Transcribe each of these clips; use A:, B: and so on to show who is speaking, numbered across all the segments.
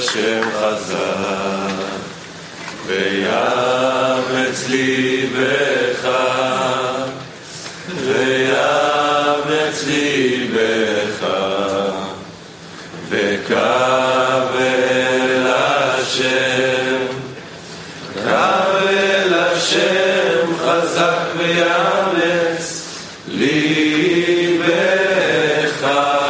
A: השם חזק ויאמץ ליבך ויאמץ ליבך וקבל השם קבל השם חזק ויאמץ ליבך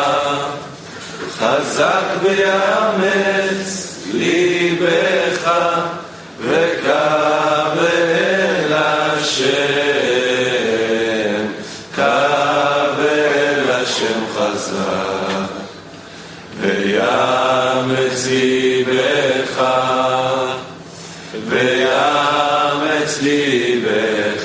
A: חזק ויאמץ ליבך וקבל השם קבל השם חזק ויאמץ ליבך ויאמץ ליבך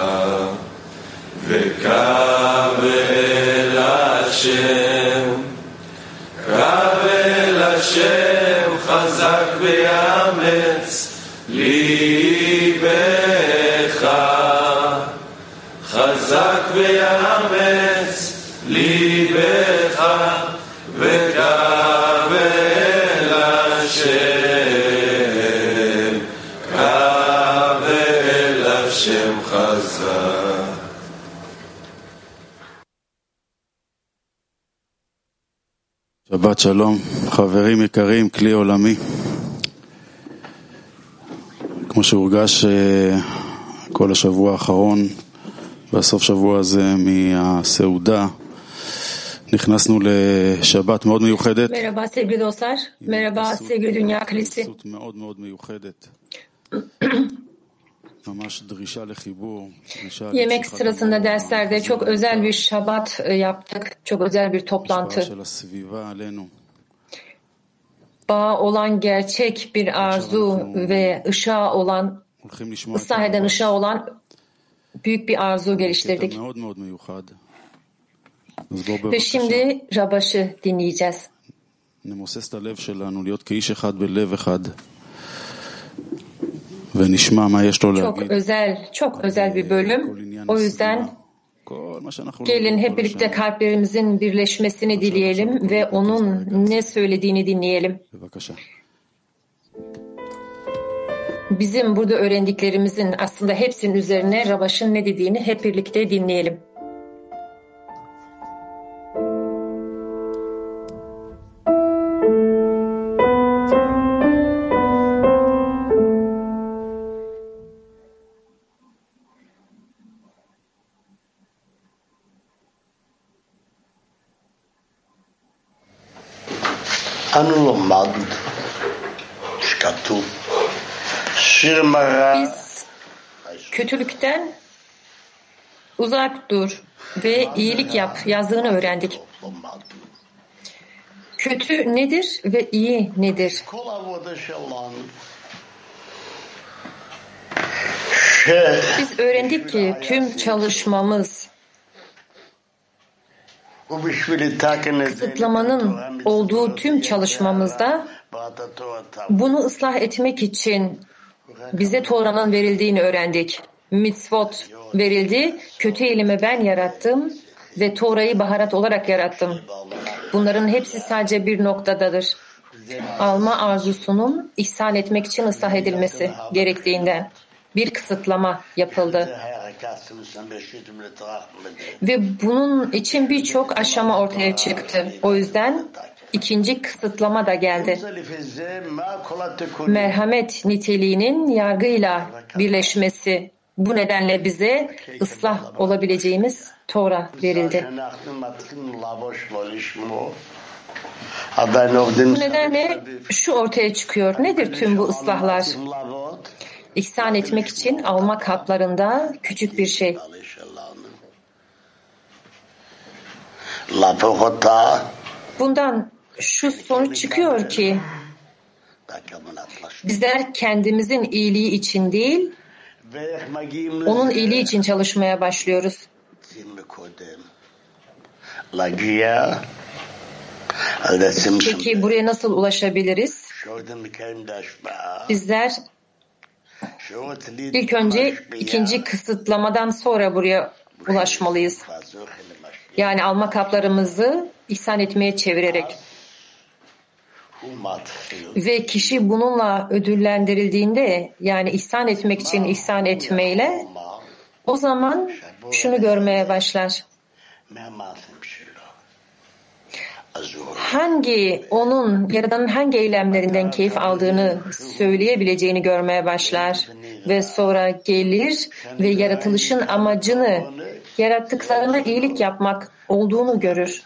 A: וקבל השם קבל השם חזק ויאמץ ליבך חזק ויאמץ ליבך וקבל השם קבל השם חזק.
B: שבת שלום, חברים יקרים, כלי עולמי. כמו שהורגש כל השבוע האחרון והסוף שבוע הזה מהסעודה, נכנסנו לשבת מאוד מיוחדת.
C: Merhaba sevgili dostlar, merhaba sevgili Dünya Kilisi.
B: מאוד מאוד מיוחדת. ממש דרישה לחיבור.
C: Yemek sırasında derslerde çok özel bir şabat yaptık, çok özel bir toplantı. Bağ olan gerçek bir arzu ve ışığa olan, ıslah eden ışığa olan büyük bir arzu geliştirdik. Ve şimdi Rabaş'ı dinleyeceğiz. Çok özel bir bölüm. O yüzden gelin hep birlikte kalplerimizin birleşmesini dileyelim ve onun ne söylediğini dinleyelim. Bizim burada öğrendiklerimizin aslında hepsinin üzerine Rabaş'ın ne dediğini hep birlikte dinleyelim. Biz kötülükten uzak dur ve iyilik yap yazığını öğrendik. Kötü nedir ve iyi nedir? Biz öğrendik ki tüm çalışmamız kısıtlamanın olduğu tüm çalışmamızda bunu ıslah etmek için bize Tora'nın verildiğini öğrendik. Mitzvot verildi. Kötü eylemi ben yarattım ve Tora'yı baharat olarak yarattım. Bunların hepsi sadece bir noktadadır. Alma arzusunun ihsan etmek için ıslah edilmesi gerektiğinden bir kısıtlama yapıldı. Ve bunun için birçok aşama ortaya çıktı. O yüzden ikinci kısıtlama da geldi. Merhamet niteliğinin yargıyla birleşmesi. Bu nedenle bize ıslah olabileceğimiz Tora verildi. Bu nedenle şu ortaya çıkıyor. Nedir tüm bu ıslahlar? İhsan etmek için alma kaplarında küçük bir şey. Bundan şu sonuç çıkıyor ki bizler kendimizin iyiliği için değil, onun iyiliği için çalışmaya başlıyoruz. Peki buraya nasıl ulaşabiliriz? Bizler ilk önce ikinci kısıtlamadan sonra buraya ulaşmalıyız. Yani alma kaplarımızı ihsan etmeye çevirerek. ve kişi bununla ödüllendirildiğinde, yani ihsan etmek için ihsan etmeyle, o zaman şunu görmeye başlar. Onun Yaradan'ın hangi eylemlerinden keyif aldığını söyleyebileceğini görmeye başlar ve sonra gelir ve yaratılışın amacını yarattıklarına iyilik yapmak olduğunu görür.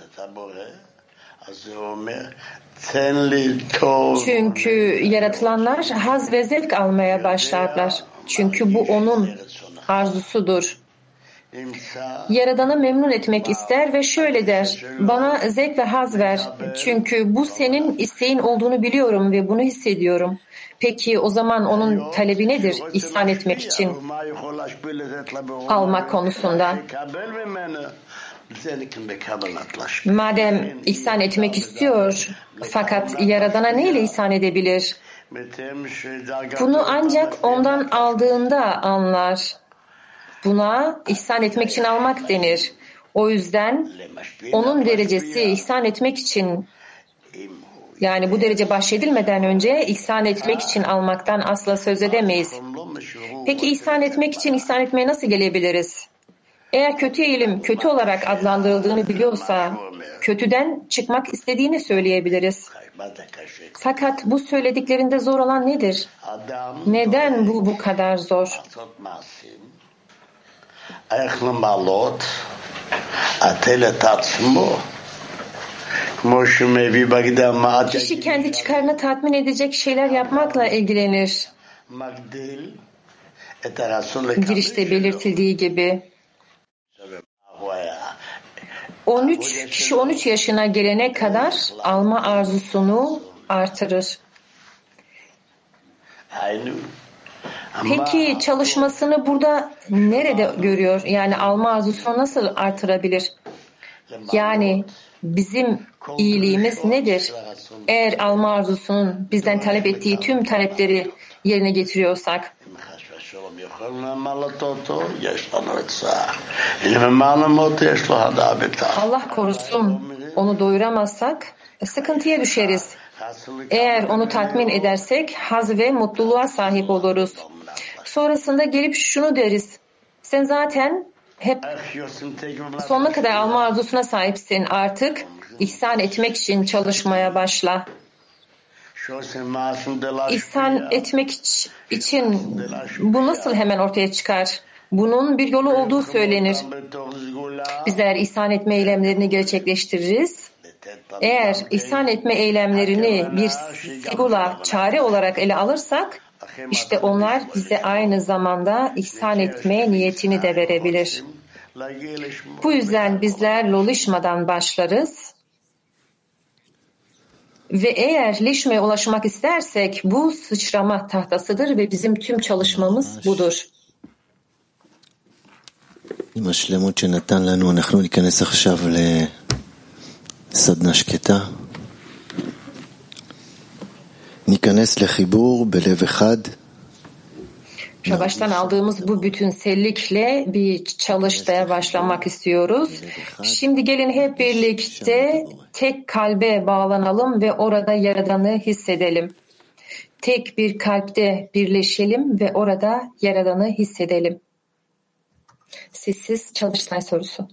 C: Çünkü yaratılanlar haz ve zevk almaya başlarlar. Çünkü bu onun arzusudur. Yaradan'ı memnun etmek ister ve şöyle der: bana zevk ve haz ver. Çünkü bu senin isteğin olduğunu biliyorum ve bunu hissediyorum. Peki o zaman onun talebi nedir ihsan etmek için almak konusunda? Madem ihsan etmek istiyor, fakat Yaradan'a neyle ihsan edebilir? Bunu ancak ondan aldığında anlar. Buna ihsan etmek için almak denir. O yüzden onun derecesi ihsan etmek için, yani bu derece bahşedilmeden önce ihsan etmek için almaktan asla söz edemeyiz. Peki ihsan etmek için ihsan etmeye nasıl gelebiliriz? Eğer kötü eğilim kötü olarak adlandırıldığını biliyorsa, kötüden çıkmak istediğini söyleyebiliriz. Fakat bu söylediklerinde zor olan nedir? Neden bu kadar zor? Kişi kendi çıkarını tatmin edecek şeyler yapmakla ilgilenir. Girişte belirtildiği gibi. Kişi 13 yaşına gelene kadar alma arzusunu artırır. Peki çalışmasını burada nerede görüyor? Yani alma arzusunu nasıl artırabilir? Yani bizim iyiliğimiz nedir? Eğer alma arzusunun bizden talep ettiği tüm talepleri yerine getiriyorsak, Allah korusun, onu doyuramazsak sıkıntıya düşeriz. Eğer onu tatmin edersek haz ve mutluluğa sahip oluruz. Sonrasında gelip şunu deriz: sen zaten hep sonuna kadar alma arzusuna sahipsin. Artık ihsan etmek için çalışmaya başla. İhsan etmek için bu nasıl hemen ortaya çıkar? Bunun bir yolu olduğu söylenir. Bizler ihsan etme eylemlerini gerçekleştiririz. Eğer ihsan etme eylemlerini bir sigula, çare olarak ele alırsak, işte onlar bize aynı zamanda ihsan etme niyetini de verebilir. Bu yüzden bizler lolişmadan başlarız ve eğer lişmeye ulaşmak istersek bu sıçrama tahtasıdır ve bizim tüm çalışmamız budur.
D: עם השלמות שנתן לנו, אנחנו ניכנס עכשיו לסדנה שקטה. ניכנס לחיבור בלב אחד.
C: Baştan aldığımız bu bütünsellikle bir çalışmaya başlamak istiyoruz. Şimdi gelin hep birlikte tek kalbe bağlanalım ve orada Yaradan'ı hissedelim. Tek bir kalpte birleşelim ve orada Yaradan'ı hissedelim. Sessiz çalıştay sorusu.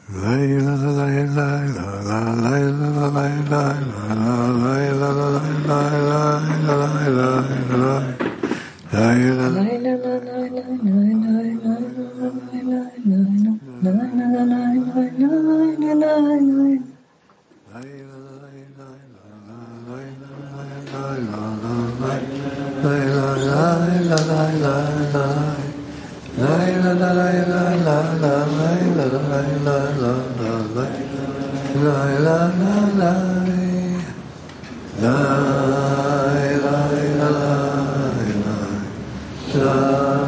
A: la